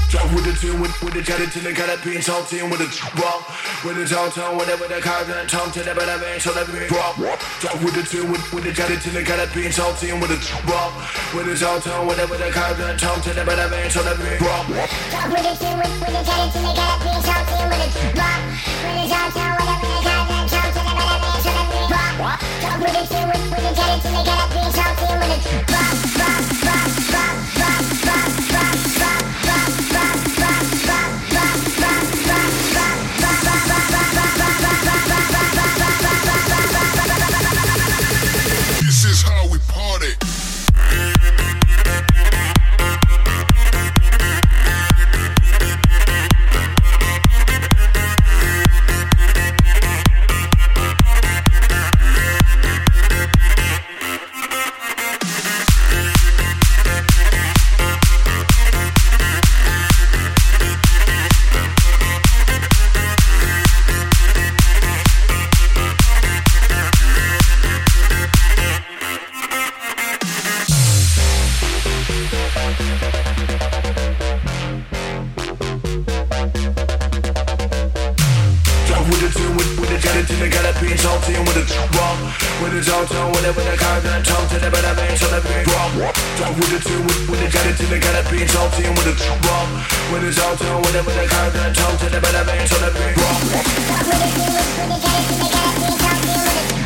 Drop with the tune, with the jet till they got it being salty and with the rock. With the tone, whatever the car and tongue to the better man, so let me drop. Drop with the tune, with the jet till they got it being salty and with the rock. With the tone, whatever the car and tongue to the better man, so let me drop. Drop with the tune, with the jet till they got it being salty and with the rock. With the tone, whatever the car and tongue to the better man, so let me drop. Drop with the tune, with the jet till they got it being salty and with the rock, rock, rock, rock, rock, rock, rock, rock, rock, rock, rock, rock, rock, rock, This is how we party. With the jet till they got it being salty and with the rock. With the tone, whatever the car and tongue to the better man, so let me drop. Drop with the tune, with the jet till they got it being salty and with the rock. With the tone, whatever the car and tongue to the better man, so let me drop. Drop with the tune, with the jet till they got it being salty and with the